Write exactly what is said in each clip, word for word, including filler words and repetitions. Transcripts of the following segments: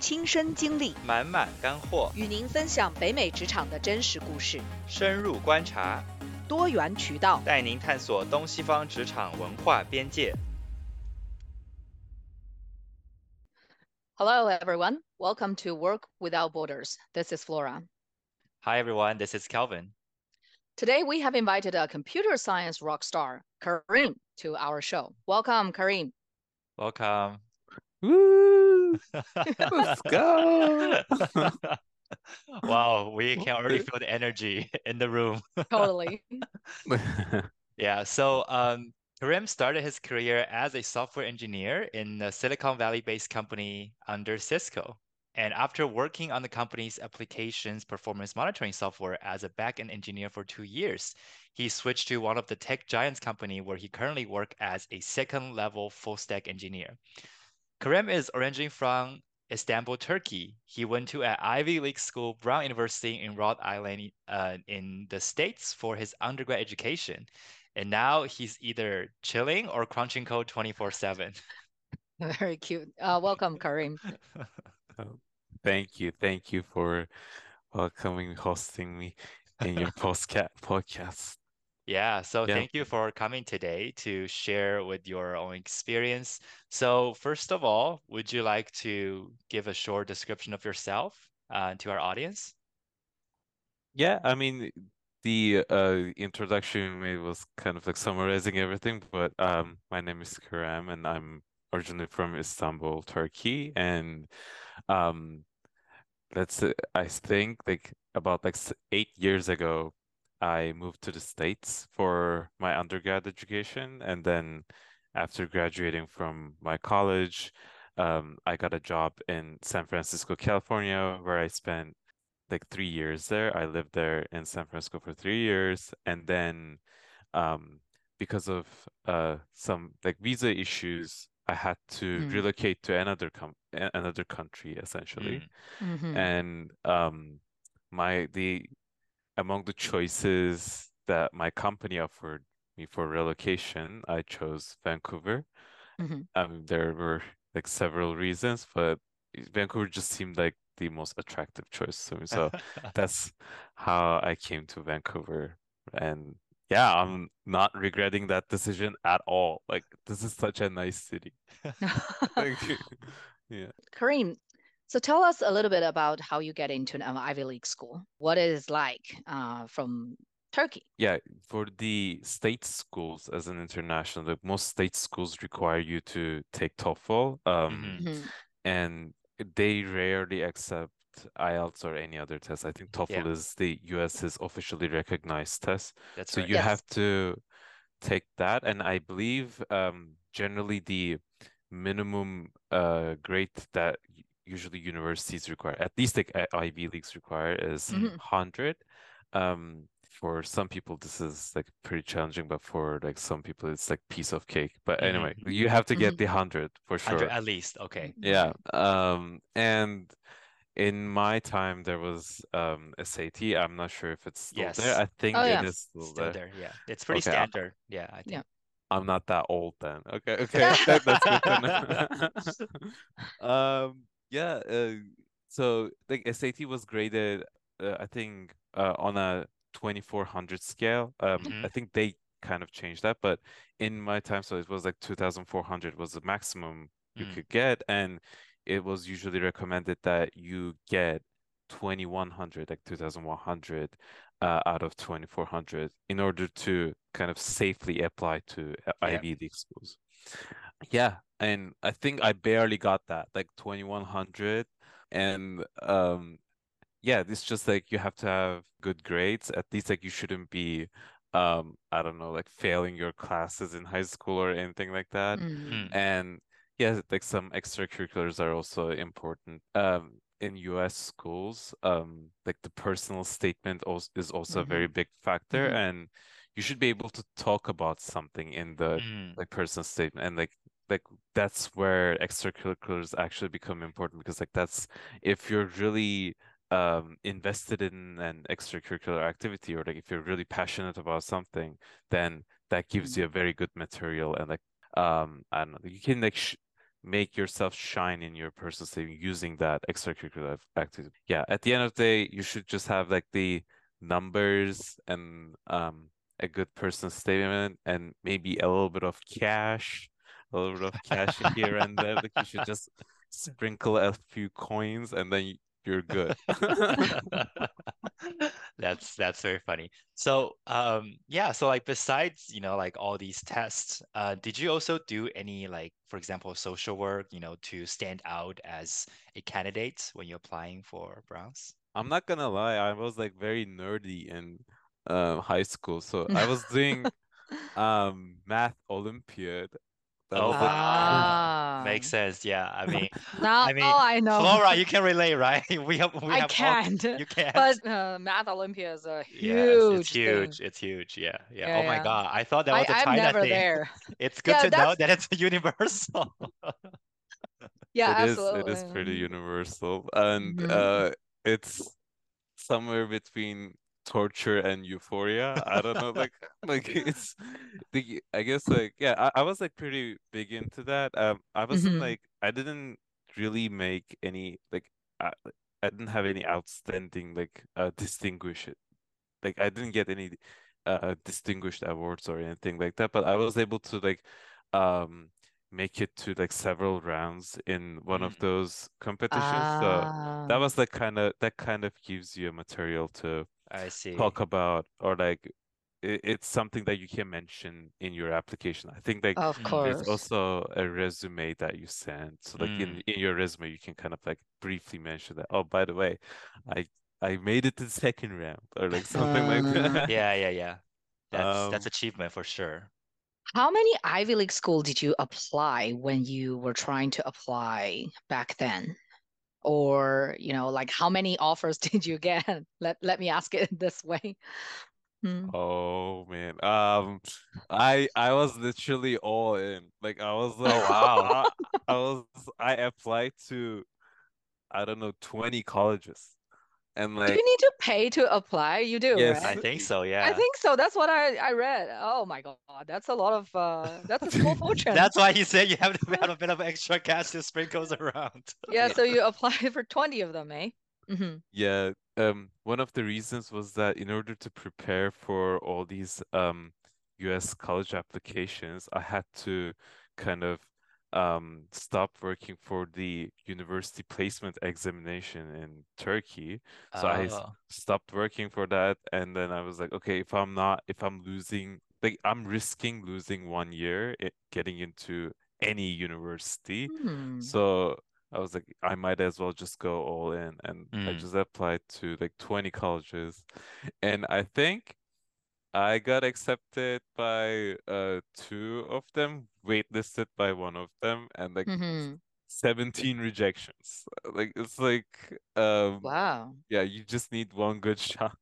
亲身经历， 满满干货， 与您分享北美职场的真实故事， 深入观察， 多元渠道， 带您探索东西方职场文化边界。 Hello, everyone. Welcome to Work Without Borders. This is Flora. Hi, everyone. This is Calvin. Today, we have invited a computer science rock star, Kareem, to our show. Welcome, Kareem. Welcome. Woo! Let's go. Wow, we can already feel the energy in the room. Totally. Yeah, so um, Karim started his career as a software engineer in a Silicon Valley-based company under Cisco. And after working on the company's applications performance monitoring software as a backend engineer for two years, he switched to one of the tech giants company where he currently works as a second level full stack engineer. Karim is originally from Istanbul, Turkey. He went to an Ivy League school, Brown University in Rhode Island, uh, in the States for his undergrad education. And now he's either chilling or crunching code twenty-four seven. Very cute. Uh, welcome, Kareem. Oh, thank you. Thank you for welcoming, hosting me in your postca- podcast. Yeah, so Yeah. thank you for coming today to share with your own experience. So first of all, would you like to give a short description of yourself uh, to our audience? Yeah, I mean, the uh introduction you made was kind of like summarizing everything, but um my name is Karam and I'm originally from Istanbul, Turkey, and um that's uh, I think like about like s- eight years ago I moved to the States for my undergrad education, and then after graduating from my college, um I got a job in San Francisco, California, where I spent like three years there. I lived there in San Francisco for three years, and then um, because of uh, some like visa issues, I had to Mm. relocate to another com a- another country essentially. Mm. Mhm. And um, my the among the choices that my company offered me for relocation, I chose Vancouver. Mhm. Um, there were like several reasons, but Vancouver just seemed like the most attractive choice to me. So that's how I came to Vancouver. And yeah, I'm not regretting that decision at all. Like, this is such a nice city. Like, yeah. Kareem, so tell us a little bit about how you get into an Ivy League school. What it is like uh, from Turkey? Yeah, for the state schools as an international, like most state schools require you to take TOEFL. Um, Mhm. Mhm. and they rarely accept I E L T S or any other test. I think Yeah, TOEFL is the US's officially recognized test. that's So right. you Yes. have to take that. And I believe um, generally the minimum uh, grade that u- usually universities require, at least like uh, Ivy Leagues require, is Mm. Mhm. one hundred. Um, for some people, this is like pretty challenging, but for like some people, it's like piece of cake. But Mhm. anyway, you have to get Mhm. the one hundred for one hundred sure. at least. Okay. Yeah. Um, and in my time, there was um S A T. I'm not sure if it's still there. Yes, I think Oh, it yeah. is still still there. there. Yeah, it's pretty Okay, I, standard. Yeah, I Yeah. think. I'm not that old then. Okay, okay, that, that's good to know. Um, yeah. Uh, so like S A T was graded, uh, I think, uh, on a twenty-four hundred scale. Um, Mhm. I think they kind of changed that, but in my time, so it was like two thousand four hundred was the maximum you Mm. could get, and it was usually recommended that you get twenty-one hundred, like two thousand one hundred, uh, out of twenty-four hundred in order to kind of safely apply to uh, Yeah. Ivy League schools. Yeah, and I think I barely got that, like twenty-one hundred. And um yeah, it's just like you have to have good grades. At least like you shouldn't be um I don't know, like failing your classes in high school or anything like that. Mhm. Mm. And yeah, like some extracurriculars are also important. Um in U S schools, um like the personal statement also is also a very Mhm. big factor, Mhm. and you should be able to talk about something in the Mm. like personal statement, and like like that's where extracurriculars actually become important, because like that's if you're really um invested in an extracurricular activity, or like if you're really passionate about something, then that gives Mhm. you a very good material. And like um I don't know, you can like sh make yourself shine in your personal statement using that extracurricular activity. Yeah, at the end of the day, you should just have like the numbers and um a good personal statement and maybe a little bit of cash, a little bit of cash here and there. Like you should just sprinkle a few coins and then you're good. That's that's very funny. So um yeah, so like besides, you know, like all these tests, uh did you also do any like, for example, social work, you know, to stand out as a candidate when you're applying for Browns? I'm not gonna lie, I was like very nerdy in uh, high school. So I was doing um math Olympiad. That Oh was like wow. Ah, Makes sense. Yeah. I mean, now I mean, I know. Flora, you can relate, right? We have we I have all can't, you can't. but uh, Math Olympia is a Yes, it's huge thing. huge. It's huge. Yeah. Yeah. Yeah, Oh my yeah. God. I thought that I was a I'm China never thing. there. It's good Yeah, to know that's that it's universal. yeah, it is it absolutely. is pretty universal. And Hmm. uh it's somewhere between torture and euphoria. I don't know, like like it's the I guess like yeah, I, I was like pretty big into that. Um I wasn't Hmm. like I didn't really make any like I, I didn't have any outstanding like uh distinguish it. Like I didn't get any uh distinguished awards or anything like that, but I was able to like um make it to like several rounds in one of Mm, those competitions. So that Ah, was like kind of that kind of gives you a material to I see. talk about or like it, it's something that you can mention in your application. I think like of Mm, there's course. also a resume that you send. So like in mm. in your resume you can kind of like briefly mention that, oh, by the way, I I made it to the second round or like something like Uh, that. Yeah, yeah, yeah. That's that's Um, achievement for sure. how many Ivy League school did you apply when you were trying to apply back then? Or, you know, like how many offers did you get? Let let me ask it this way. Hmm. oh man. Um, I I was literally all in. Like I was Oh like wow. I I was I applied to I don't know twenty colleges and Do like you need to pay to apply? You do, yes. I right? think so, I yeah. think so. That's what I I read. Oh my God, that's a lot of uh that's a small fortune. That's why he said you have to have a bit of extra cash to sprinkles around. Yeah, so you apply for twenty of them, eh? Hmm. Yeah, um, one of the reasons was that in order to prepare for all these um U S college applications, I had to kind of um stop working for the university placement examination in Turkey. So I s- Oh. stopped working for that, and then I was like, okay, if I'm not, if I'm losing, like I'm risking losing one year it, getting into any university. Hmm. So I was like, I might as well just go all in. And I Mm. just applied to like twenty colleges. And I think I got accepted by uh two of them, waitlisted by one of them, and like Hmm. seventeen rejections. Like it's like um Wow. yeah, you just need one good shot.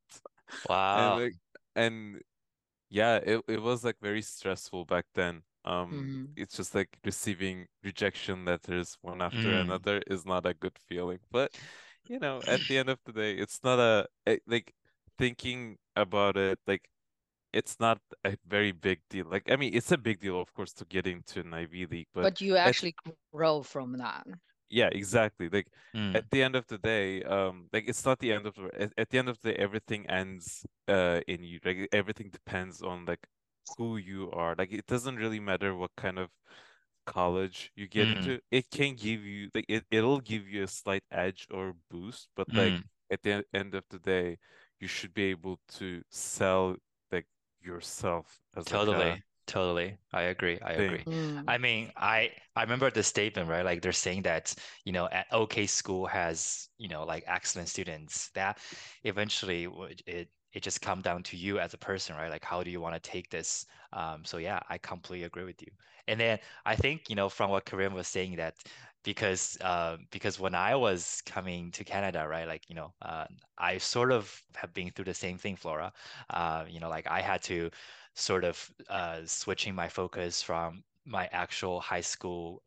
And Wow. like and yeah, it, it was like very stressful back then. Um, Hmm. it's just like receiving rejection letters one after Mm. another is not a good feeling. But you know, at the end of the day, it's not a it, like thinking about it, like it's not a very big deal. Like I mean, it's a big deal, of course, to get into an Ivy League, but But you at actually grow from that. yeah, exactly. Like at Mm. the end of the day, um, like it's not the end of the at, at the end of the day, everything ends uh in you. Like everything depends on like who you are. Like it doesn't really matter what kind of college you get Mm. into. It can give you like it, it'll give you a slight edge or boost, but like Mm. at the end of the day, you should be able to sell like yourself as like a Totally. Totally. I agree. I agree. thing. Mm. I mean, I I remember the statement, right? Like they're saying that, you know, at OK school has, you know, like excellent students that eventually would it it just come down to you as a person, right? Like how do you want to take this? Um, so yeah, I completely agree with you. And then I think, you know, from what Karim was saying that because uh, because when I was coming to Canada, right, like, you know, uh, I sort of have been through the same thing, Flora. Uh, you know, like I had to sort of uh, switching my focus from my actual high school um,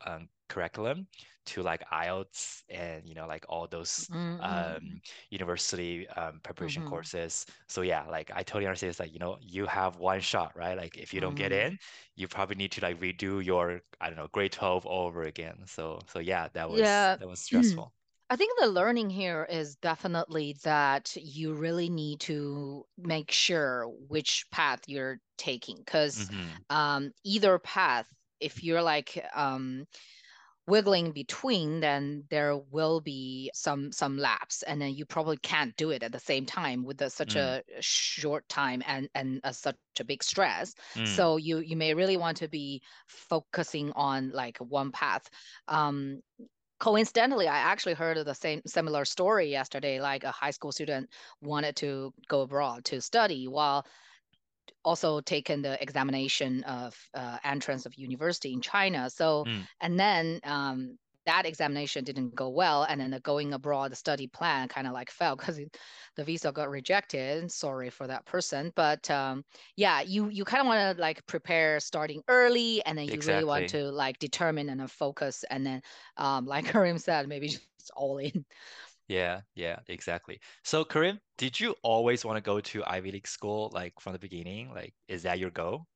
curriculum to like I E L T S and you know like all those Mm-hmm. um university um preparation Mm-hmm. courses. So yeah, like I totally understand. It's like, you know, you have one shot, right? Like if you don't get Mm-hmm. in, you probably need to like redo your, I don't know, grade twelve all over again. So so yeah, that was Yeah. that was stressful. I think the learning here is definitely that you really need to make sure which path you're taking, because Mm-hmm. um, either path, if you're like um, wiggling between, then there will be some some lapse, and then you probably can't do it at the same time with the, such Mm, a short time and and a, such a big stress. mm, So you you may really want to be focusing on like one path. Um, coincidentally, I actually heard of the same similar story yesterday. Like a high school student wanted to go abroad to study while also taken the examination of uh, entrance of university in China. So, mm. and then um, that examination didn't go well, and then the going abroad study plan kind of like fell because the visa got rejected. Sorry for that person, but um, yeah, you you kind of want to like prepare starting early, and then you really want Exactly. to like determine and then focus, and then um, like Karim said, maybe just all in. Yeah, yeah, exactly. So, Karim, did you always want to go to Ivy League school, like from the beginning? Like, is that your goal?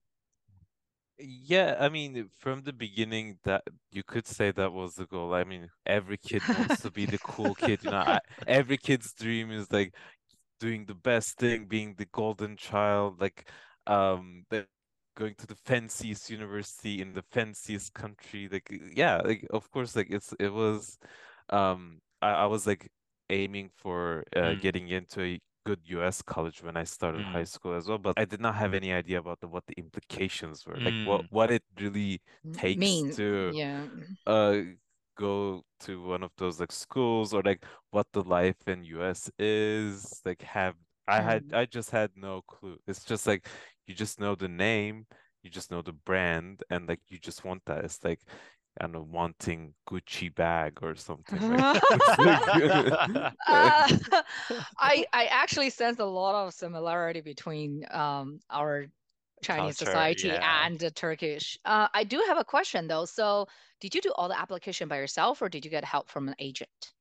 Yeah, I mean, from the beginning, that you could say that was the goal. I mean, every kid wants to be the cool kid, you know. I, every kid's dream is like doing the best thing, being the golden child, like um, the, going to the fanciest university in the fanciest country. Like, yeah, like of course, like it's it was, um, I, I was like aiming for uh, Mm, getting into a good U S college when I started high mm, school as well, but I did not have any idea about the, what the implications were, like what mm, what it really takes Mean, to yeah. uh go to one of those like schools, or like what the life in U S is. Like have I had Mm. I just had no clue. It's just like you just know the name, you just know the brand, and like you just want that. It's like I don't know, wanting Gucci bag or something. Like it's like Uh, I I actually sense a lot of similarity between um, our Chinese culture, society yeah. and the Turkish. Uh, I do have a question though. So, did you do all the application by yourself, or did you get help from an agent?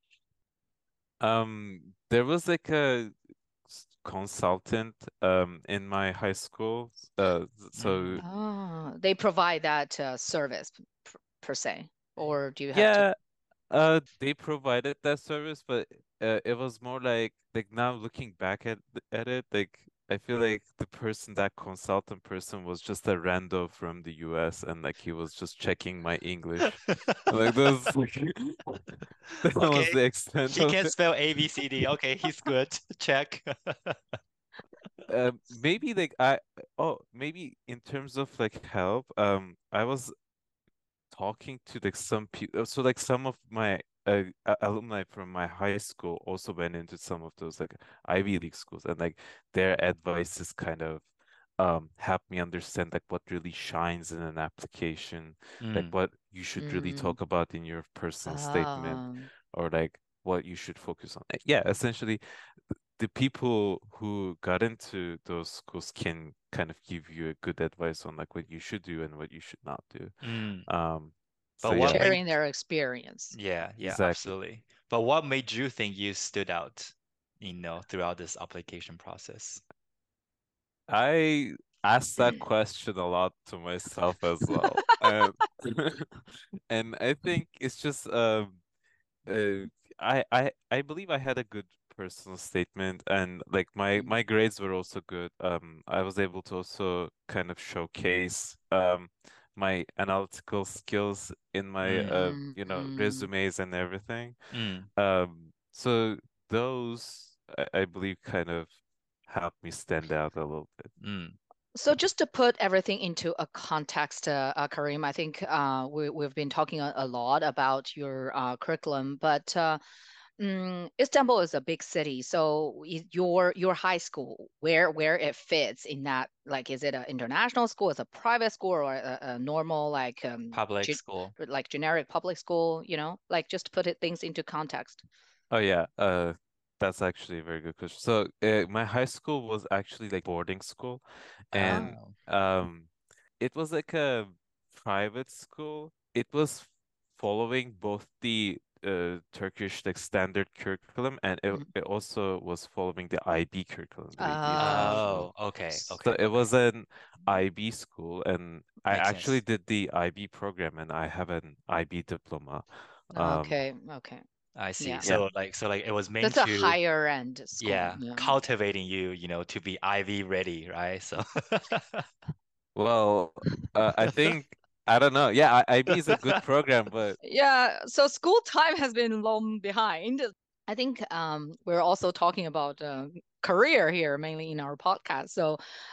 um there was like a s- consultant um in my high school. Uh so Mm. Oh, they provide that uh, service per, per se, or do you have to? yeah, Uh, they provided that service, but uh, it was more like like now looking back at th- at it, like I feel like the person, that consultant person, was just a rando from the U S, and like he was just checking my English. Like those, that was Okay, the extent he of can it. spell A B C D. Okay, he's good. Check. Uh, maybe like I oh maybe in terms of like help, um, I was talking to like some people. So like some of my uh, a- alumni from my high school also went into some of those like Ivy League schools, and like their advice is kind of um help me understand like what really shines in an application, like Mm, what you should really Mm. talk about in your personal statement, Um, or like what you should focus on. Uh, Yeah, essentially the people who got into those schools can kind of give you a good advice on like what you should do and what you should not do. mm. Um, so But what yeah, made, sharing their experience. yeah, yeah, exactly. absolutely. But what made you think you stood out, you know, throughout this application process? I asked that question a lot to myself as well. And and I think it's just um uh, I I I believe I had a good personal statement, and like my Mm, my grades were also good. Um, I was able to also kind of showcase um my analytical skills in my Mm, uh mm, you know mm. resumes and everything. mm, Um, so those I, I believe kind of helped me stand out a little bit. mm, So just to put everything into a context, uh, uh, Karim, I think uh, we, we've been talking a, a lot about your uh, curriculum, but uh, mm, Istanbul is a big city. So i- your your high school, where where it fits in that, like, is it an international school, is it a private school, or a, a normal like um, public ge school. like generic public school? You know, like just to put it things into context. Oh yeah, uh, that's actually a very good question. So, uh, my high school was actually like boarding school, and Oh. um, it was like a private school. It was following both the uh, Turkish like standard curriculum, and it, Mhm. it also was following the I B curriculum, the, the Oh, international. Oh, okay, s- So okay, it okay. was an I B school, and I Makes actually sense. did the I B program, and I have an I B diploma. Um, okay, okay. I see. Yeah. yeah. So like so like it was meant That's a to, higher end school. yeah, Yeah. cultivating you, you know, to be Ivy ready, right? So Well, uh, I think I don't know. Yeah, I IB is a good program, but Yeah, so school time has been long behind. I think um, we're also talking about uh, career here, mainly in our podcast. So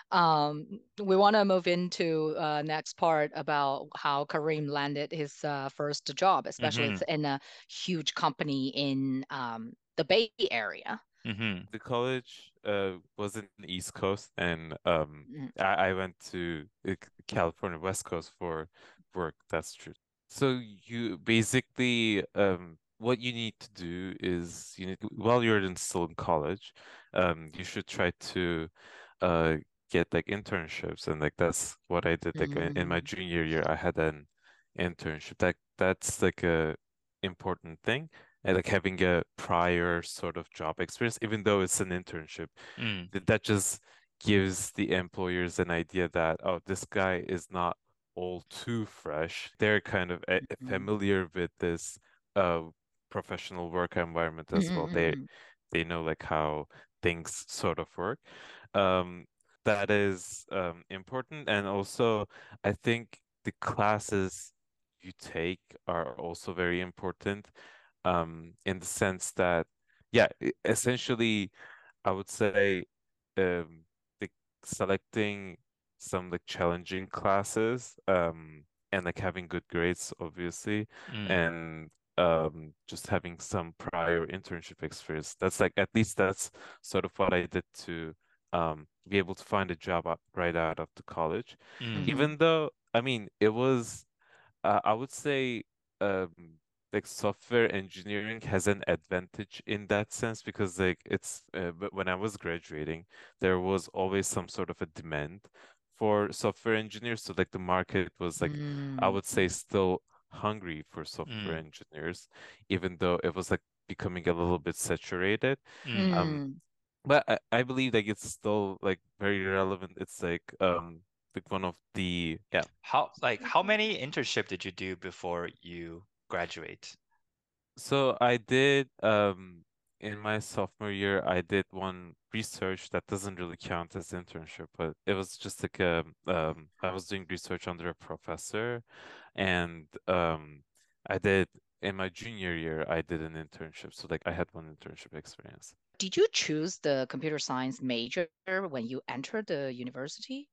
um, we want to move into uh, next part about how Kareem landed his uh, first job, especially hmm it's in a huge company in um, the Bay Area. hmm the college uh was in the East Coast, and um Mm, I, I went to uh, California West Coast for work. That's true. So you basically um what you need to do is you need while you're in still in college, um you should try to uh get like internships, and like that's what I did. Like in in my mm, junior year, I had an internship. That that's like a important thing, and like having a prior sort of job experience, even though it's an internship, mm, that that just gives the employers an idea that, oh, this guy is not all too fresh. They're kind of eh, mm, familiar with this uh professional work environment mm, as well. mm, They mm, they know like how things sort of work. Um, that is um important, and also I think the classes you take are also very important, um, in the sense that, yeah, e- essentially, I would say, um, the selecting some like challenging classes, um, and like having good grades, obviously, mm, and um, just having some prior internship experience. That's like at least that's sort of what I did to um be able to find a job out, right out of the college. mm, mm, Even though, I mean, it was uh, I would say um like software engineering has an advantage in that sense, because like it's uh, but when I was graduating, there was always some sort of a demand for software engineers. So like the market was like, I mm, would say, still hungry for software mm, engineers, even though it was like becoming a little bit saturated. mm. Um, mm. but I, I believe like it's still like very relevant. It's like um like one of the, yeah. How like how many internship did you do before you graduate? So I did um in my sophomore year, I did one research that doesn't really count as internship, but it was just like a um I was doing research under a professor, and um I did in my junior year I did an internship. So like I had one internship experience. Did you choose the computer science major when you entered the university?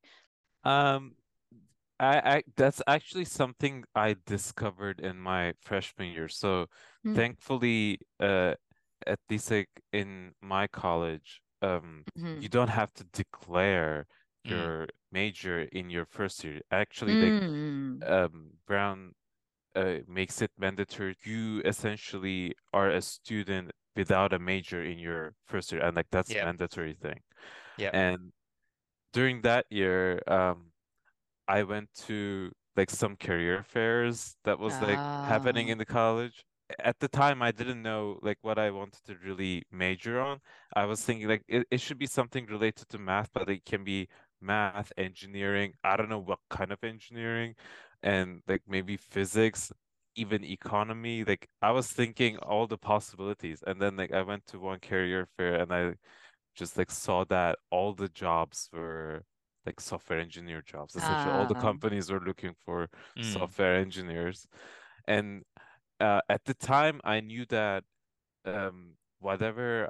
Um I, I that's actually something I discovered in my freshman year. So Mm, thankfully, uh, at least like in my college, um, you mhm, don't have to declare Mm, your major in your first year. Actually, like mm, um, Brown uh, makes it mandatory. You essentially are a student without a major in your first year, and like that's yep, mandatory thing. yep. And during that year, um. I went to like some career fairs that was like happening ah, in the college. At the time, I didn't know like what I wanted to really major on. I was thinking like it, it should be something related to math, but it can be math, engineering. I don't know what kind of engineering, and like maybe physics, even economy. Like I was thinking all the possibilities. And then like I went to one career fair, and I just like saw that all the jobs were like software engineer jobs. Essentially, all the ah, companies were looking for Mm, software engineers. And uh, at the time, I knew that um, whatever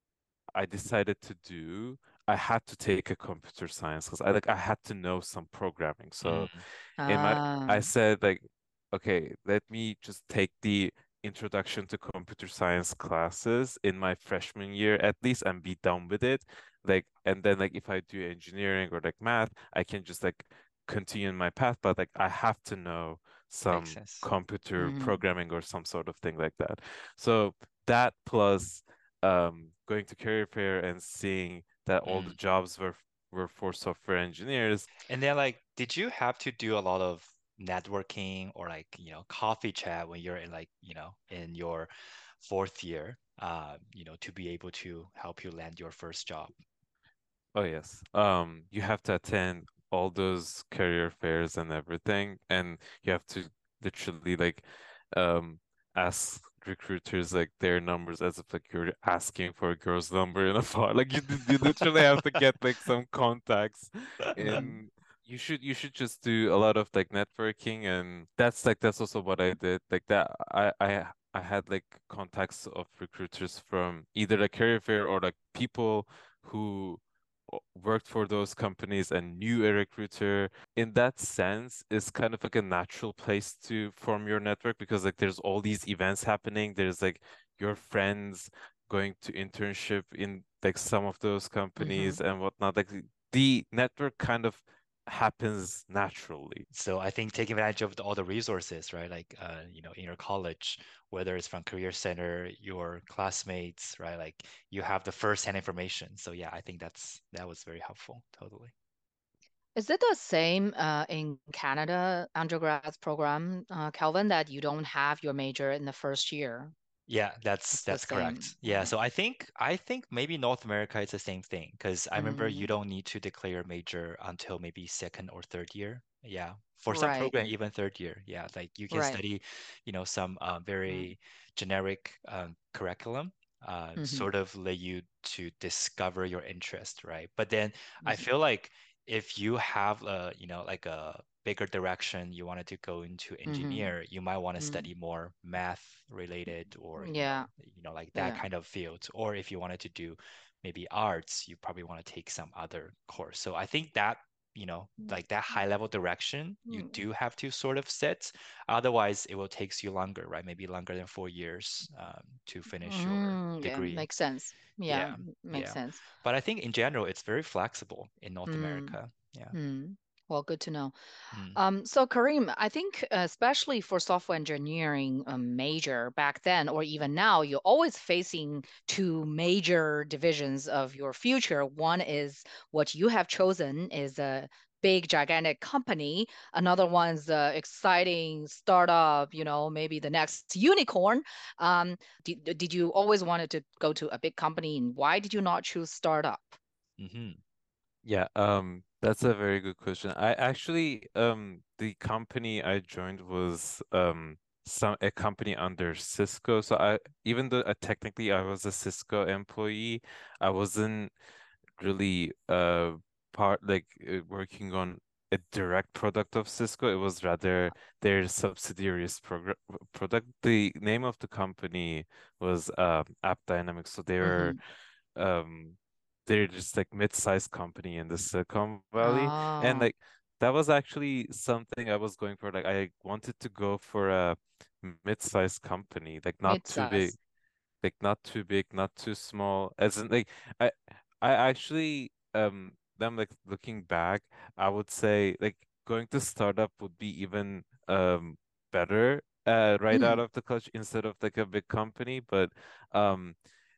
I decided to do, I had to take a computer science because I like I had to know some programming. So mm, in my I ah, said like, okay, let me just take the introduction to computer science classes in my freshman year at least and be done with it. Like, and then like if I do engineering or like math, I can just like continue in my path, but like I have to know makes some sense. computer mm, programming or some sort of thing like that. So that plus um going to career fair and seeing that all the Mm. jobs were were for software engineers. And then like, did you have to do a lot of networking or like, you know, coffee chat when you're in like, you know, in your fourth year, uh, you know, to be able to help you land your first job. Oh yes. Um, you have to attend all those career fairs and everything, and you have to literally like um ask recruiters like their numbers as if like you're asking for a girl's number in a bar. Like you you literally have to get like some contacts Mm. in you should you should just do a lot of like networking, and that's like that's also what I did. Like that I I I had like contacts of recruiters from either a career fair or like people who o- worked for those companies and knew a recruiter. In that sense, it's kind of like a natural place to form your network because like there's all these events happening. There's like your friends going to internship in like some of those Mm-hmm. companies and whatnot. Like the the network kind of happens naturally. So I think taking advantage of the, all the resources, right? Like, uh, you know, in your college, whether it's from Career Center, your classmates, right? Like you have the first-hand information. So yeah, I think that's that was very helpful. Totally. Is it the same uh, in Canada undergrad program, uh, Calvin, that you don't have your major in the first year? Yeah, that's It's the that's correct. same. Yeah, Uh, so I think I think maybe North America is the same thing because I remember you mm, don't need to declare a major until maybe second or third year. Yeah, for some right, program even third year. Yeah, like you can right. study, you know, some uh, Mm, very generic um, curriculum, uh, mm-hmm, sort of let you to discover your interest, right? But then I mm-hmm, feel like if you have a, you know, like a bigger direction you wanted to go into mm-hmm, engineer, you might want to mm, study more math related or you know yeah, you know like that yeah. kind of field. Or if you wanted to do maybe arts, you probably want to take some other course. So I think that you know like that high level direction you Mm, do have to sort of set. Otherwise, it will takes you longer, right? Maybe longer than four years um, to finish your mm, yeah, degree. makes sense. Yeah, Yeah, m- makes yeah. sense. But I think in general, it's very flexible in North Mm, America. Yeah. mm. Well, good to know. Mm. Um, so Kareem, I think uh, especially for software engineering um, major back then or even now, you're always facing two major divisions of your future. One is what you have chosen is a big gigantic company. Another one's uh, exciting startup, you know, maybe the next unicorn. Um, did, did you always wanted to go to a big company, and why did you not choose startup? Mm-hmm. Yeah, um, that's a very good question. I actually, um, the company I joined was um some a company under Cisco. So I, even though uh, technically I was a Cisco employee, I wasn't really uh part like uh, working on a direct product of Cisco. It was rather their subsidiaries program product. The name of the company was um App Dynamics. So they were Mm-hmm. um they're just like mid-sized company in the Silicon Valley, and Oh, like that was actually something I was going for. Like I wanted to go for a mid-sized company, like not too big, mid-size. like not too big, not too small. As in like I I actually um then like looking back, I would say like going to startup would be even um better uh right out Mm, of the clutch instead of like a big company. But um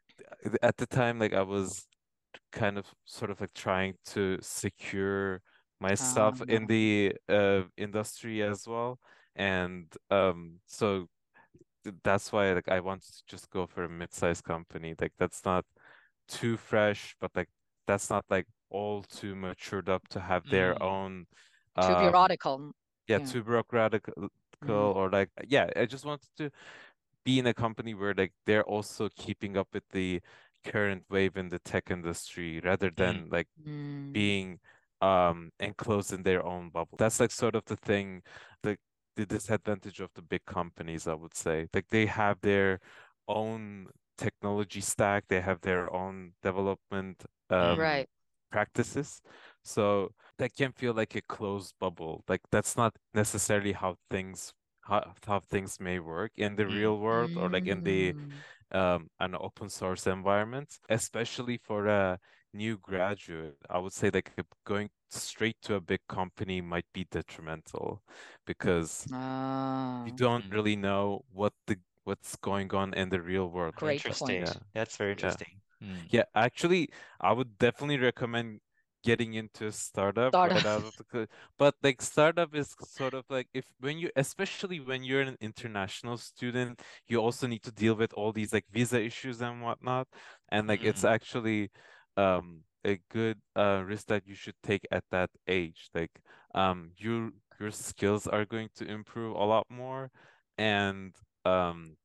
at the time like I was kind of sort of like trying to secure myself in uh, the uh industry as well. And um so th- that's why like I wanted to just go for a mid-sized company. Like that's not too fresh, but like that's not like all too matured up to have their Mm. own too um bureaucratic. yeah, Yeah. too bureaucratic Mm, or like yeah, I just wanted to be in a company where like they're also keeping up with the current wave in the tech industry rather Mm. than like mm, being um enclosed in their own bubble. That's like sort of the thing, the the disadvantage of the big companies, I would say. Like they have their own technology stack, they have their own development Mm. um right. practices. So that can feel like a closed bubble. Like that's not necessarily how things how, how things may work in the Mm. real world or like in the Mm, um an open source environment, especially for a new graduate. I would say like if going straight to a big company might be detrimental because you ah, don't Mm. really know what the what's going on in the real world. Like, great uh, Interesting. point. yeah, That's very yeah, interesting. Mm. yeah. Actually, I would definitely recommend getting into a startup Startup. right out of the co- but like startup is sort of like if when you especially when you're an international student, you also need to deal with all these like visa issues and whatnot. And like it's Mm. actually um a good uh risk that you should take at that age. Like um you your skills are going to improve a lot more, and um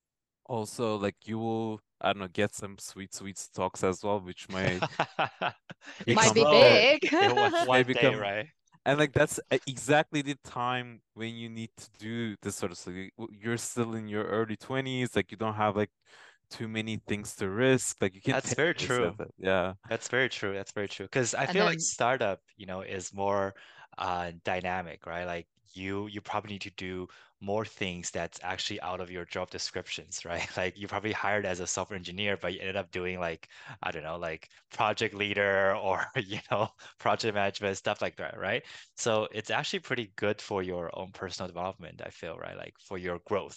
also like you will, I don't know, get some sweet sweet stocks as well, which might Might Become be become uh, low big. in one which may one day, become, right? and like that's e- exactly the time when you need to do this sort of stuff. You- You're still in your early twenties, like you don't have like too many things to risk. Like you can That's take very risks at true. that. Yeah. That's very true. That's very true. Because I And feel like then, startup, you know, is more uh, dynamic, right? Like you, you probably need to do more things that's actually out of your job descriptions, right? Like you probably hired as a software engineer, but you ended up doing like, I don't know, like project leader or, you know, project management, stuff like that, right? So it's actually pretty good for your own personal development, I feel, right? Like for your growth.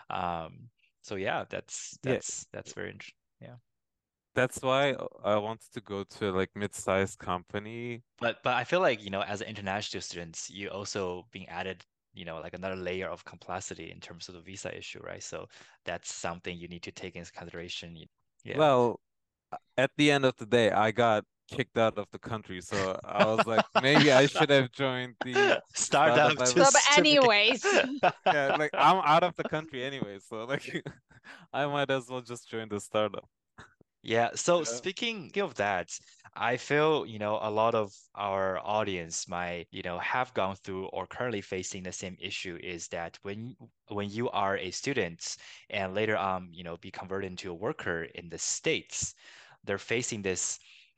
Um, so yeah, that's Yeah. that's that's very interesting. Yeah. That's why I wanted to go to like mid-sized company. But but I feel like, you know, as an international students, you also being added, you know, like another layer of complexity in terms of the visa issue, right? So that's something you need to take into consideration. y- Yeah. Well, at the end of the day, I got kicked out of the country, so I was like, maybe I should have joined the startup. Startup I so, was, but just to make anyways, yeah, like I'm out of the country anyway, so like I might as well just join the startup. Yeah, so Yeah. speaking of that, I feel, you know, a lot of our audience might, you know, have gone through or currently facing the same issue is that when when you are a student and later on, you know, be converted into a worker in the States, they're facing this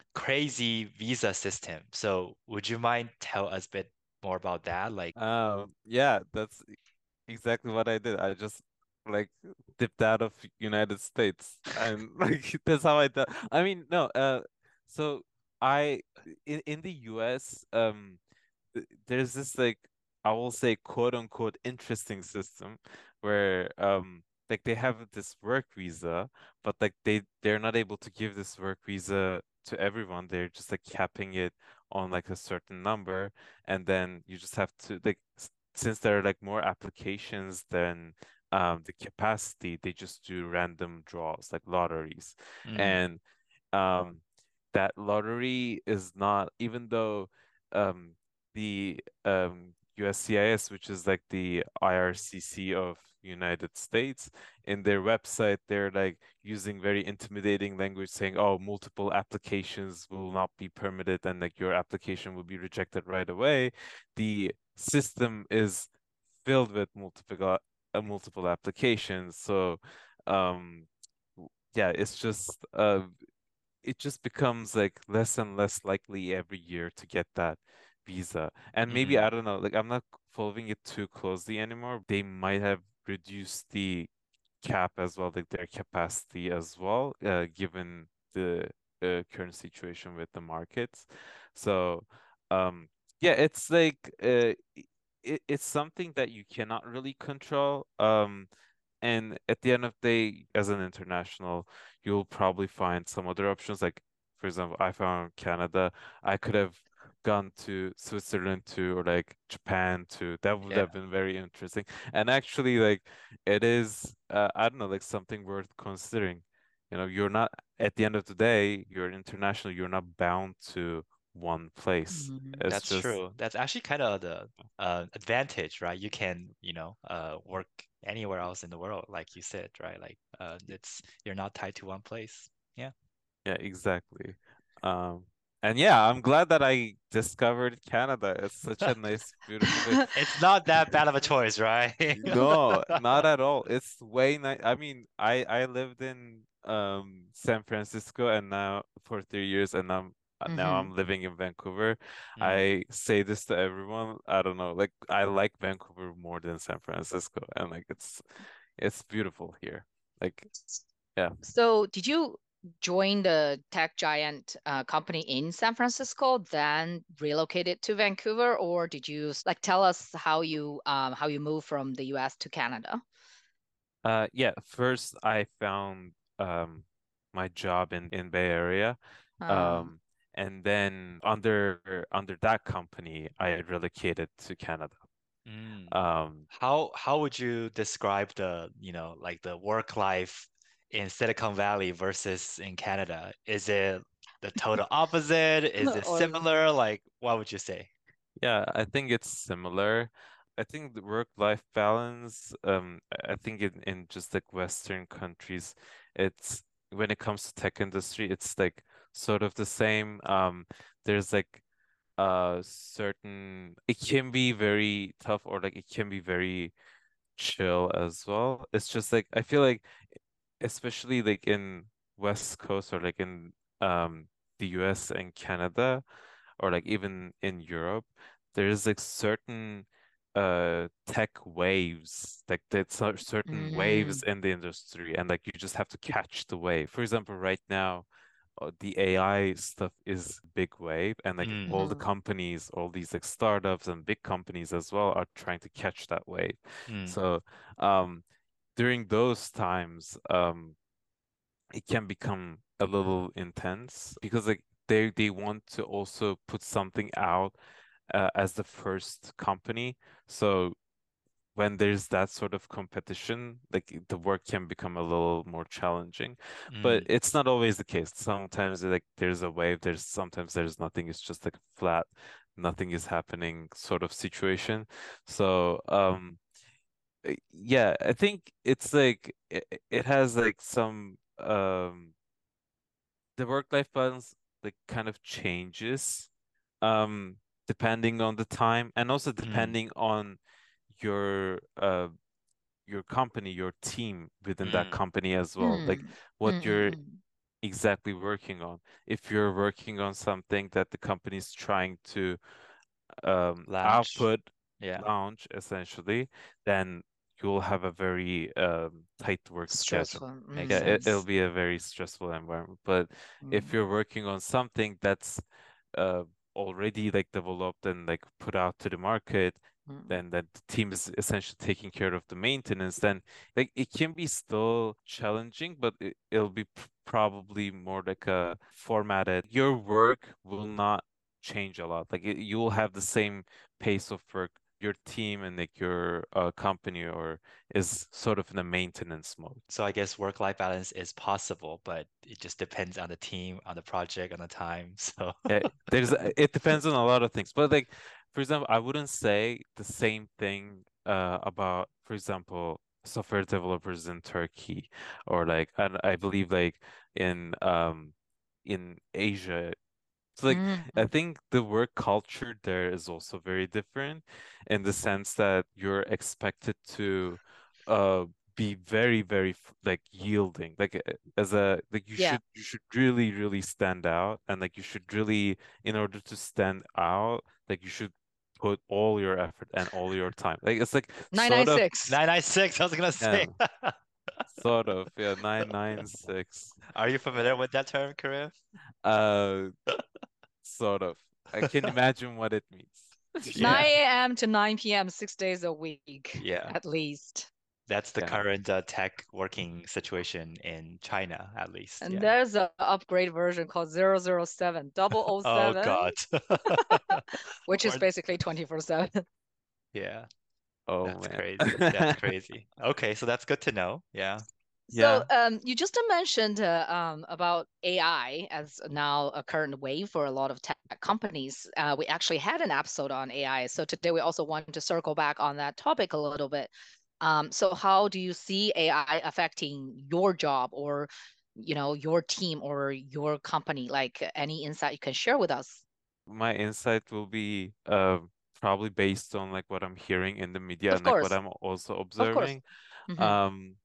crazy visa system. So would you mind tell us a bit more about that? Like, Um, yeah, that's exactly what I did. I just like dipped out of United States, and like that's how I did. I mean, no, uh, so I in in the U S, um, th- there's this like I will say quote unquote interesting system where um like they have this work visa, but like they they're not able to give this work visa to everyone. They're just like capping it on like a certain number, and then you just have to like s- since there are like more applications than um the capacity, they just do random draws like lotteries. mm, And um that lottery is not, even though um the um U S C I S, which is like the I R C C of United States, in their website, they're like using very intimidating language saying, oh, multiple applications will not be permitted and like your application will be rejected right away. The system is filled with multiple uh, multiple applications. So um w- yeah, it's just uh it just becomes like less and less likely every year to get that visa. And maybe, mm, I don't know, like I'm not following it too closely anymore. They might have reduced the cap as well, like their capacity as well, uh, given the uh, current situation with the markets. So, um, yeah, it's like uh, it, it's something that you cannot really control. Um, and at the end of the day, as an international, you'll probably find some other options. Like, for example, I found Canada. I could have gone to Switzerland too, or like Japan too. That would yeah. have been very interesting. And actually, like, it is, uh, I don't know, like something worth considering. You know, you're not, at the end of the day, you're international, you're not bound to one place. mhm. It's That's just, true. That's actually kind of the uh, advantage, right? You can, you know, uh, work anywhere else in the world, like you said, right? Like, uh, it's you're not tied to one place. Yeah. yeah, exactly. Um, and yeah, I'm glad that I discovered Canada. It's such a nice, beautiful place. It's not that bad of a choice, right? No, not at all. It's way nice. I mean, I I lived in um San Francisco and now for three years, and I'm uh, now Mhm. I'm living in Vancouver. Mm, I say this to everyone. I don't know, like I like Vancouver more than San Francisco, and like it's it's beautiful here. Like, yeah. So, did you join the tech giant uh, company in San Francisco, then relocated to Vancouver, or did you like tell us how you um, how you moved from the U S to Canada? Uh, yeah, first I found um my job in in Bay Area. Um, Um, and then under under that company, I relocated to Canada. Mm. Um, How how would you describe the, you know, like the work life in Silicon Valley versus in Canada? Is it the total opposite? Is it Or similar? Like, what would you say? yeah, I think it's similar. I think the work-life balance, um, I I think in, in just like Western countries, it's when it comes to tech industry, it's like sort of the same. Um, there's like uh certain it can be very tough or like it can be very chill as well. It's just like I feel like especially like in West Coast or like in um the U S and Canada or like even in Europe, there's like certain uh tech waves, like there's cer- certain waves mm, in the industry, and like you just have to catch the wave. For example, right now, uh, the A I stuff is big wave, and like Mm, all the mhm, companies, all these like startups and big companies as well are trying to catch that wave. mm, So um during those times, um it can become a little intense because like they they want to also put something out uh, as the first company. So when there's that sort of competition, like the work can become a little more challenging. But mm, it's not always the case. Sometimes like there's a wave, there's sometimes there's nothing. It's just like flat, nothing is happening sort of situation. So um uh, yeah, I think it's like it, it has like some um the work-life balance like kind of changes um depending on the time and also mm, depending on your uh your company, your team within that mm, company as well. Like mm, what mm, mm, you're mm. exactly working on. If you're working on something that the company's trying to um, launch. output Yeah. launch essentially, then you'll have a very um, tight work schedule. Stressful. Makes Yeah, Mm, it, it'll sense. be a very stressful environment. But if mm, you're working on something that's uh, already like developed and like put out to the market, mm. then that the team is essentially taking care of the maintenance, then like it can be still challenging, but it, it'll be p- probably more like a formatted. Your work will not change a lot. Like it, you will have the same pace of work. Your team and like your uh, company or is sort of in a maintenance mode. So I guess work-life balance is possible, but it just depends on the team, on the project, on the time. So Yeah, there's it depends on a lot of things. But like for example, I wouldn't say the same thing uh about, for example, software developers in Turkey or like I, I believe like in um in Asia. So like I Mm. think the work culture there is also very different in the sense that you're expected to uh be very very f- like yielding like uh, as a like you Yeah. should you should really really stand out, and like you should really, in order to stand out, like you should put all your effort and all your time, like it's like sort of nine nine six. nine nine six, I was gonna say. yeah, sort of yeah, nine nine six Are you familiar with that term, Karim? uh sort of, I can imagine what it means. Yeah. nine a m to nine p m, six days a week, Yeah. at least. That's the Yeah. current uh, tech working situation in China, at least. And Yeah. there's an upgrade version called zero zero seven, double oh Oh seven, God. which is Or basically twenty-four seven. yeah, Oh that's man. crazy. That's crazy. Okay, so that's good to know. Yeah. So Yeah. um, you just mentioned uh, um, about A I as now a current wave for a lot of tech companies. Uh, we actually had an episode on A I. So today we also want to circle back on that topic a little bit. Um, so how do you see A I affecting your job or, you know, your team or your company? Like any insight you can share with us? My insight will be uh, probably based on like what I'm hearing in the media Of and like what course, I'm also of course. observing. Hmm. Um,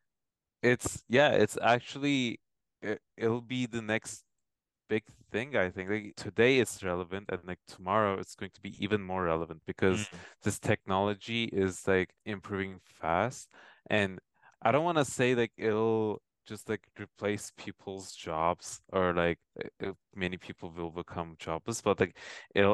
it's yeah, it's actually it, it'll be the next big thing, I think. Like today it's relevant and like tomorrow it's going to be even more relevant because Mm. this technology is like improving fast. And I don't want to say like it'll just like replace people's jobs or like uh, uh, many people will become jobless, but like it'll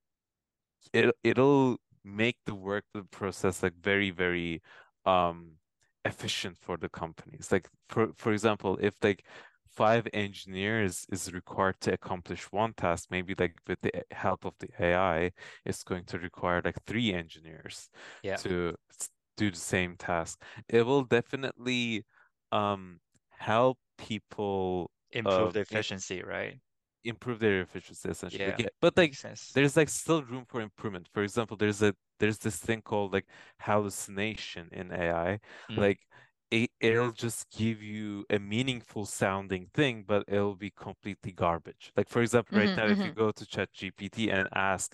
it it'll make the work the process like very very um efficient for the companies. Like for for example, if like five engineers is required to accomplish one task, maybe like with the help of the A I, it's going to require like three engineers Yeah. to do the same task. It will definitely um help people Improve uh the efficiency, right? improve their efficiency essentially. Yeah, Yeah, but like makes sense. there's like still room for improvement. For example, there's a there's this thing called like hallucination in A I. Mm. Like it, it'll just give you a meaningful sounding thing, but it'll be completely garbage. Like for example, right Mm-hmm, now, if you mm-hmm. go to ChatGPT and ask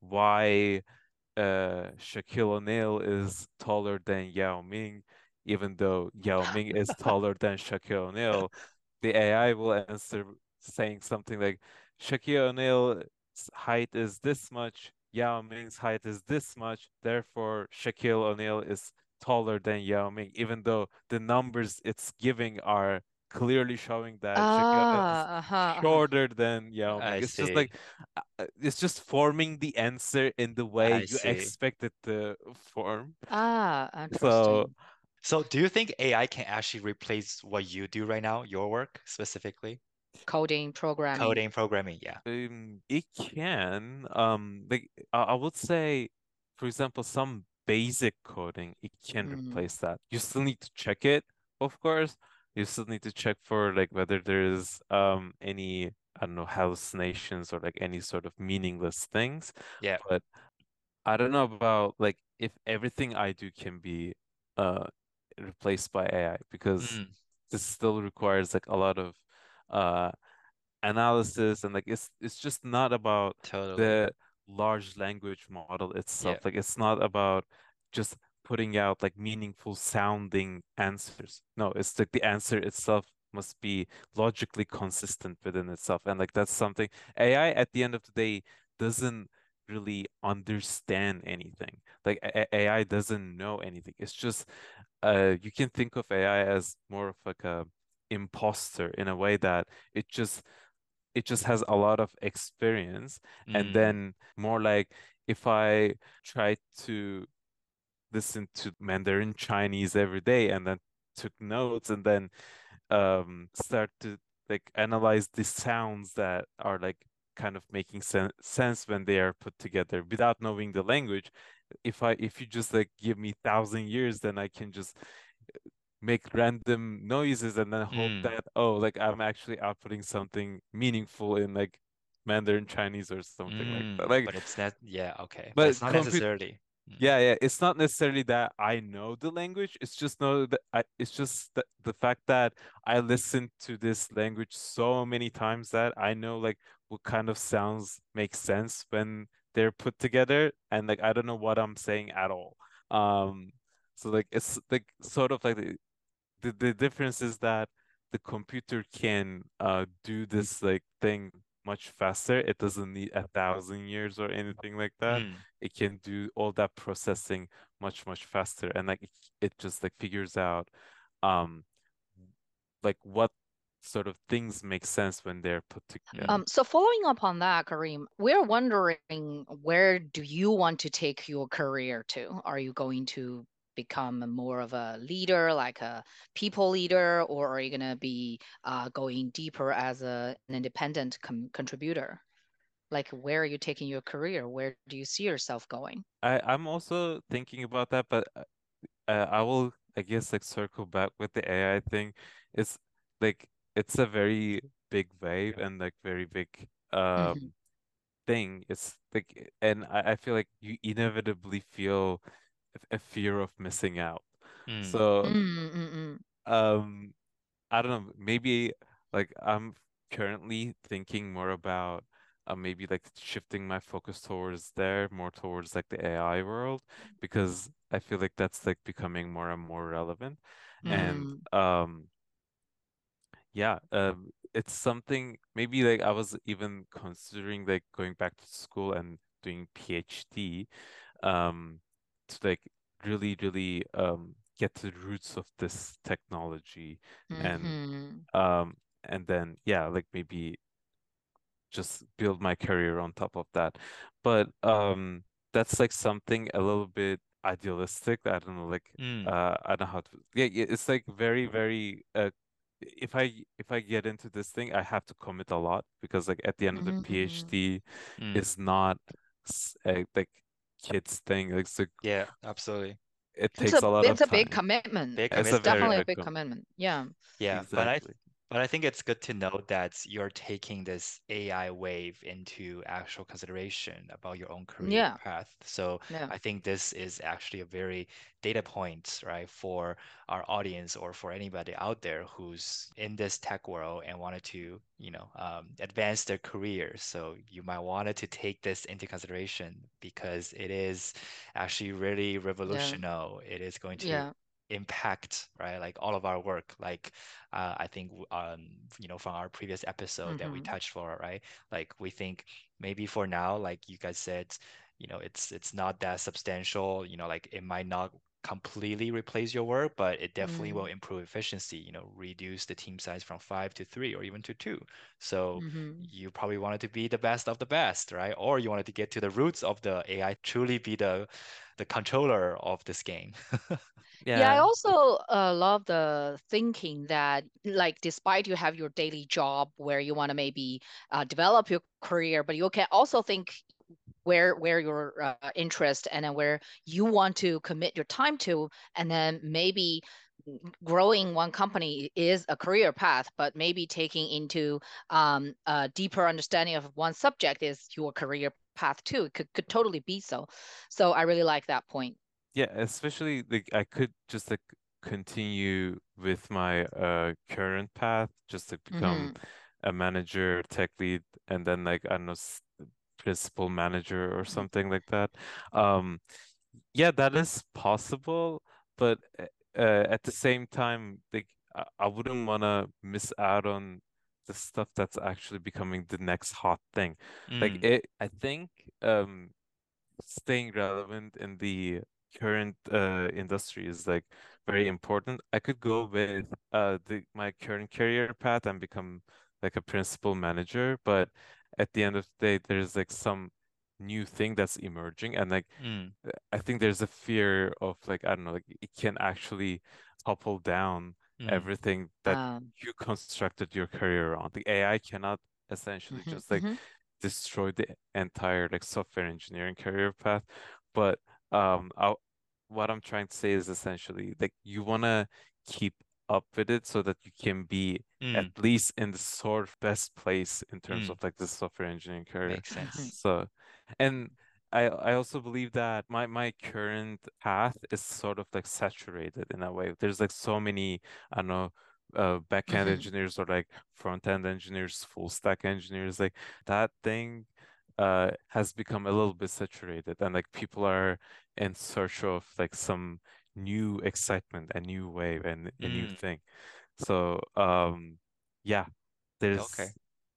why uh Shaquille O'Neal is taller than Yao Ming, even though Yao Ming is taller than Shaquille O'Neal, the A I will answer saying something like Shaquille O'Neal's height is this much, Yao Ming's height is this much, therefore Shaquille O'Neal is taller than Yao Ming, even though the numbers it's giving are clearly showing that Shaquille O'Neal is Ah, uh-huh, uh-huh. shorter than Yao Ming. I It's just see. like uh, uh, it's just forming the answer in the way I you see. expect it to form. Ah, So interesting. So do you think A I can actually replace what you do right now, your work specifically? Coding, programming. Coding, programming, yeah. um, it can um like I, I would say, for example, some basic coding, it can Mm. replace that. You still need to check it, of course. You still need to check for like whether there's um any, I don't know, hallucinations or like any sort of meaningless things. Yeah. But I don't know about like if everything I do can be uh replaced by A I, because Mm, this still requires like a lot of uh analysis, and like it's it's just not about totally. the large language model Yeah. itself. Like it's not about just putting out like meaningful sounding answers. No, it's like the answer itself must be logically consistent within itself. And like that's something A I at the end of the day doesn't really understand anything. Like A- AI doesn't know anything. It's just uh you can think of A I as more of like a imposter, in a way that it just it just has a lot of experience. And Mm, then more like if I try to listen to Mandarin Chinese every day and then took notes and then um start to like analyze the sounds that are like kind of making sen sense when they are put together without knowing the language. If I if you just like give me thousand years, then I can just make random noises and then hope mm, that, oh, like I'm actually outputting something meaningful in like Mandarin Chinese or something like that. mm. Like, But it's not, yeah, okay. But it's but not compute, necessarily. Mm, yeah, yeah, it's not necessarily that I know the language. It's just know that I, it's just the, the fact that I listened to this language so many times that I know like what kind of sounds make sense when they're put together, and like I don't know what I'm saying at all. Um, so like it's like sort of like the, the, the difference is that the computer can uh do this like thing much faster. It doesn't need a thousand years or anything like that. mm, It can do all that processing much, much faster. And like it, it just like figures out um like what sort of things make sense when they're put mm. together. Um, so following up on that, Kareem, we're wondering, where do you want to take your career to? Are you going to become more of a leader, like a people leader, or are you going to be uh, going deeper as a, an independent com contributor? Like, where are you taking your career? Where do you see yourself going? I I'm also thinking about that, but uh, uh, I will, I guess, like circle back with the A I thing. It's like it's a very big wave and like very big Hmm. um thing. It's like, and I, I feel like you inevitably feel a a fear of missing out. Mm, So Mm-mm-mm. um I don't know, maybe like I'm currently thinking more about uh, maybe like shifting my focus towards there, more towards like the A I world, because I feel like that's like becoming more and more relevant. And Mm. um yeah, um it's something maybe like I was even considering like going back to school and doing PhD um to like really, really um get to the roots of this technology, and Mm-hmm. um, and then yeah, like maybe just build my career on top of that. But um, that's like something a little bit idealistic. I don't know, like mm. uh, I don't know how to. Yeah, yeah, it's like very, very uh if I if I get into this thing, I have to commit a lot because like at the end of the Mm-hmm, mm-hmm. PhD Mm. is not s- a, like kids thing. Like, so Yeah, absolutely. it It's takes a a lot of it's a big time. commitment. Big It's a It's very definitely a commitment. big big com commitment. Yeah. Yeah, but I exactly. but I think it's good to know that you're taking this A I wave into actual consideration about your own career Yeah. path. So Yeah. I think this is actually a very data point, right, for our audience or for anybody out there who's in this tech world and wanted to, you know, um, advance their career. So you might want to take this into consideration because it is actually really Yeah. revolutionary. It is going to Yeah. impact, right? Like all of our work. Like uh, I think um, you know, from our previous episode that we Mm-hmm. touched for, right? Like we think maybe for now, like you guys said, you know, it's it's not that substantial, you know, like it might not completely replace your work, but it definitely will Mm. improve efficiency, you know, reduce the team size from five to three or even to two. So Mm-hmm. you probably wanted to be the best of the best, right? Or you wanted to get to the roots of the A I, truly be the the controller of this game. Yeah, I Yeah. also uh, love the thinking that, like, despite you have your daily job where you want to maybe uh, develop your career, but you can also think where where your uh, interest and then where you want to commit your time to, and then maybe growing one company is a career path, but maybe taking into um, a deeper understanding of one subject is your career path too. It could could totally be so. So I really like that point. Yeah, especially like I could just like continue with my uh current path, just like become Mm-hmm. a manager, tech lead, and then like I don't know, s- principal manager or something like that. Um, yeah, that is possible, but uh, uh, at the same time, like I, I wouldn't want to miss out on the stuff that's actually becoming the next hot thing. Like Mm, it, I think um staying relevant in the current uh, industry is like very important. I could go with uh the my current career path and become like a principal manager, but at the end of the day, there's like some new thing that's emerging, and like mm, I think there's a fear of like I don't know, like it can actually topple down mm, everything that Um, you constructed your career on. The A I cannot essentially mhm, just like mhm, destroy the entire like software engineering career path. But um, I, what I'm trying to say is essentially like you want to keep up with it so that you can be at mm, least in the sort of best place in terms mm. of like the software engineering career. Makes mhm, sense. So, and I I also believe that my my current path is sort of like saturated in a way. There's like so many, I don't know, uh back-end mhm, engineers or like front-end engineers, full stack engineers, like that thing uh has become a little bit saturated, and like people are in search of like some new excitement, a new wave, and a new Mm, thing. So um yeah, okay. there's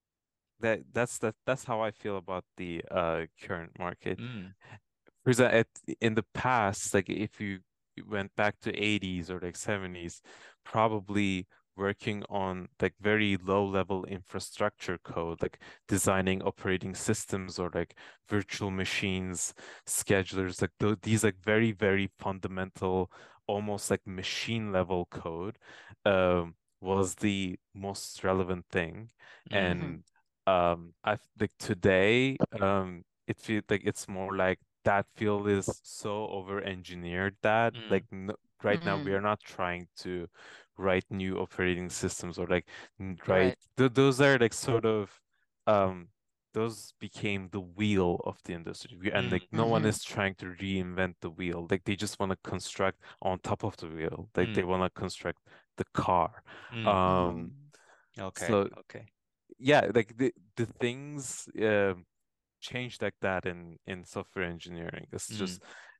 that that's that that's how I feel about the uh current market. Mm, For example, at, in the past, like if you went back to eighties or like seventies, probably working on like very low level infrastructure code, like designing operating systems or like virtual machines, schedulers, like th these like very, very fundamental, almost like machine level code, um, was the most relevant thing. mm, mhm, And um, I like today, um, it feels like it's more like that field is so over engineered that like mm, no, right now we mhm. are not trying to write new operating systems or like n- write Right. th those are like sort of um those became the wheel of the industry. We, and mm, like no one Mhm, is trying to reinvent the wheel, like they just want to construct on top of the wheel, like they mm, want to construct the car. mm. um mhm, Okay, so okay. yeah, like the the things um changed like that in in software engineering. It's Mm, just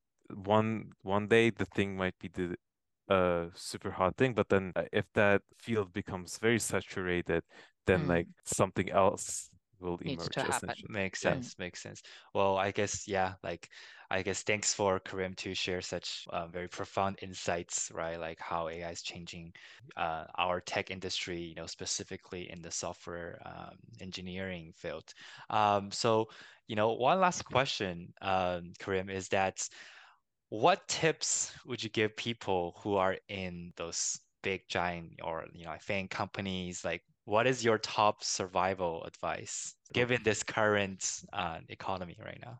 one one day the thing might be the uh super hot thing, but then uh, if that field becomes very saturated, then like mm. something else will Needs to emerge happen. essentially. makes Yeah. Mm. sense, makes sense. Well, I guess, yeah, like, I guess thanks for Karim to share such uh, very profound insights, right? Like how A I is changing uh, our tech industry, you know, specifically in the software um, engineering field. Um, so, you know, one last question, um, Karim, is that what tips would you give people who are in those big giant or you know FAANG companies, like what is your top survival advice given this current uh, economy right now?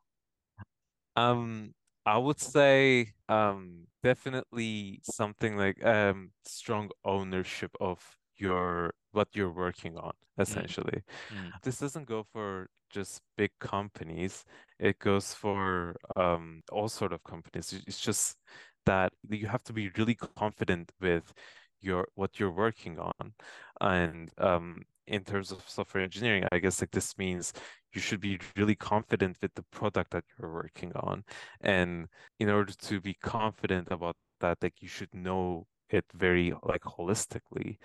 Um, I would say um definitely something like um strong ownership of your what you're working on, Mm, essentially. mm, This doesn't go for just big companies. It goes for um all sort of companies. It- It's just that you have to be really confident with your what you're working on. And um in terms of software engineering, I guess like this means you should be really confident with the product that you're working on. And in order to be confident about that, like you should know it very like holistically.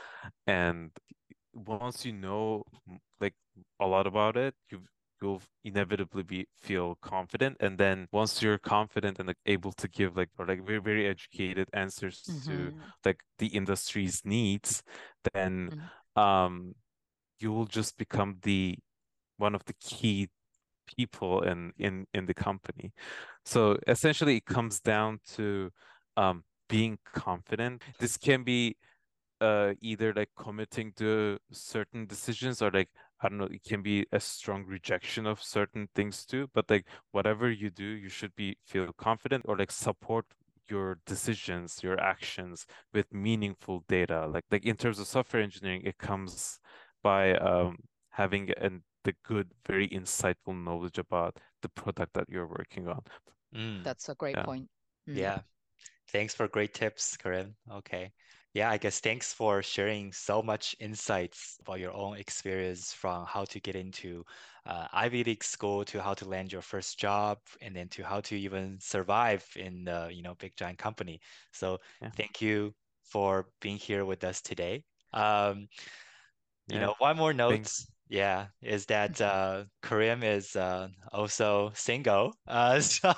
And once you know m- like a lot about it, you you'll inevitably be feel confident. And then once you're confident and like able to give like or like very, very educated answers to Mm-hmm. like the industry's needs, then Mm-hmm. um you will just become the one of the key people in in in the company. So essentially it comes down to um being confident. This can be uh either like committing to certain decisions or like I don't know, it can be a strong rejection of certain things too. But like whatever you do, you should be feel confident or like support your decisions, your actions with meaningful data. Like like in terms of software engineering, it comes by um having an the good, very insightful knowledge about the product that you're working on. mm. That's a great Yeah. point. Mm. Yeah. Thanks for great tips, Karim. Okay. Yeah, I guess thanks for sharing so much insights about your own experience from how to get into uh, Ivy League school to how to land your first job and then to how to even survive in the, you know, big giant company. So Yeah. thank you for being here with us today. Um, you Yeah. know, one more note, Thank yeah, is that uh, Karim is uh, also single. Uh, so,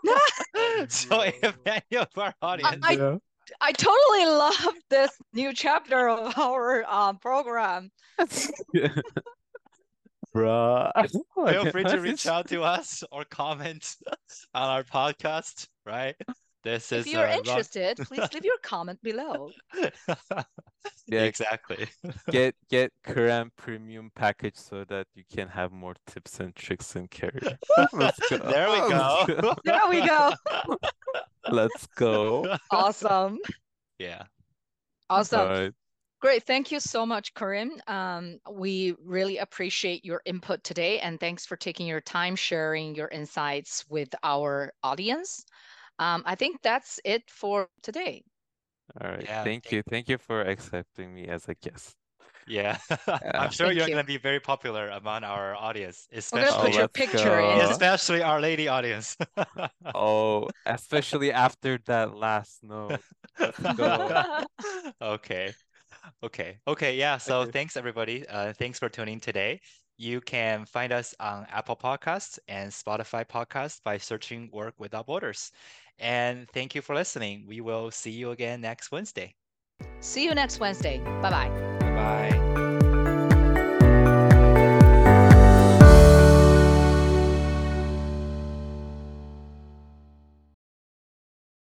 so if any of our I, audience, I Yeah. I totally love this new chapter of our um, program. Bruh. feel free to What reach is- out to us or comment on our podcast, right? This If is you're uh, Ron. interested, please leave your comment below. Yeah, Exactly. get get Quran premium package so that you can have more tips and tricks in career. Let's go. There we Let's go. go. There we go. Let's go. Awesome. Yeah. All Awesome. right. Great. Thank you so much, Karim. Um, we really appreciate your input today, and thanks for taking your time sharing your insights with our audience. Um, I think that's it for today. All right. Yeah. Thank Thank you. Thank you for accepting me as a guest. Yeah. I'm Yeah. sure Thank you're you. going to be very popular among our audience, We're gonna Oh, put especially your let's picture in. go. especially our lady audience. Oh, especially after that last note. Let's go. Okay. Okay. Okay. Yeah. So Okay. thanks everybody. Uh, thanks for tuning today. You can find us on Apple Podcasts and Spotify Podcasts by searching Work Without Borders. And thank you for listening. We will see you again next Wednesday. See you next Wednesday. Bye bye. Bye bye.